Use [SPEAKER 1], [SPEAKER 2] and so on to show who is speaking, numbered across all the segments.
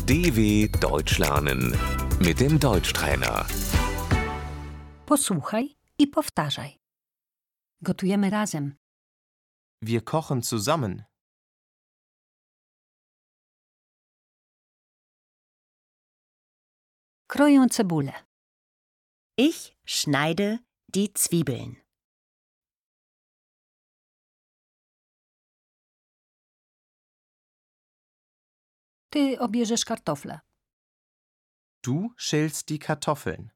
[SPEAKER 1] DW Deutsch lernen mit dem Deutschtrainer.
[SPEAKER 2] Posłuchaj i powtarzaj. Gotujemy razem.
[SPEAKER 3] Wir kochen zusammen.
[SPEAKER 2] Kroję cebulę.
[SPEAKER 4] Ich schneide die Zwiebeln.
[SPEAKER 2] Ty obierzesz kartofle.
[SPEAKER 3] Du schälst die Kartoffeln.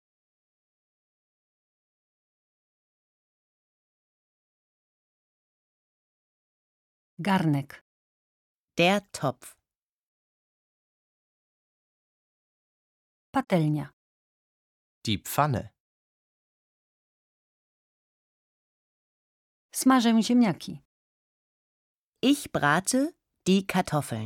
[SPEAKER 2] Garnek.
[SPEAKER 4] Der Topf.
[SPEAKER 2] Patelnia.
[SPEAKER 3] Die Pfanne.
[SPEAKER 2] Smażę ziemniaki.
[SPEAKER 4] Ich brate die Kartoffeln.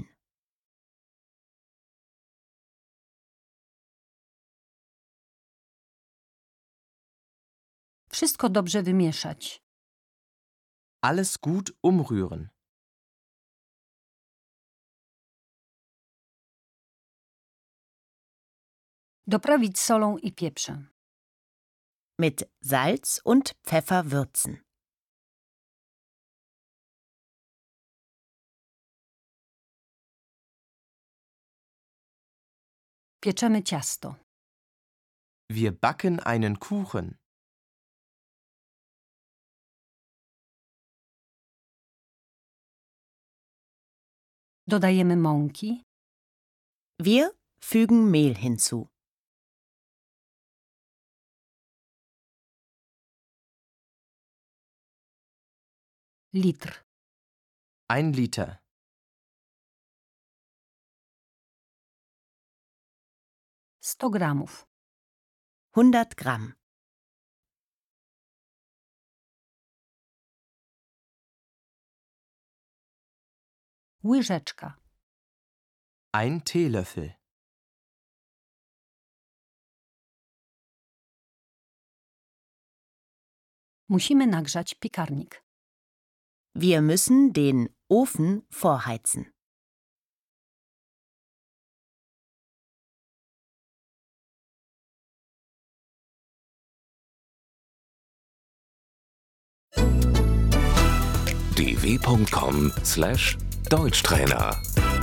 [SPEAKER 2] Wszystko dobrze wymieszać.
[SPEAKER 3] Alles gut umrühren.
[SPEAKER 2] Doprawić solą i pieprzem.
[SPEAKER 4] Mit Salz und Pfeffer würzen.
[SPEAKER 2] Pieczemy ciasto.
[SPEAKER 3] Wir backen einen Kuchen.
[SPEAKER 2] Dodajemy mąki.
[SPEAKER 4] Wir fügen Mehl hinzu.
[SPEAKER 2] Litr.
[SPEAKER 3] 1 Liter.
[SPEAKER 2] Sto gramów.
[SPEAKER 4] 100 Gramm.
[SPEAKER 2] Łyżeczka.
[SPEAKER 3] 1 Teelöffel.
[SPEAKER 2] Musimy nagrzać piekarnik.
[SPEAKER 4] Wir müssen den Ofen vorheizen.
[SPEAKER 1] dw.com/Deutschtrainer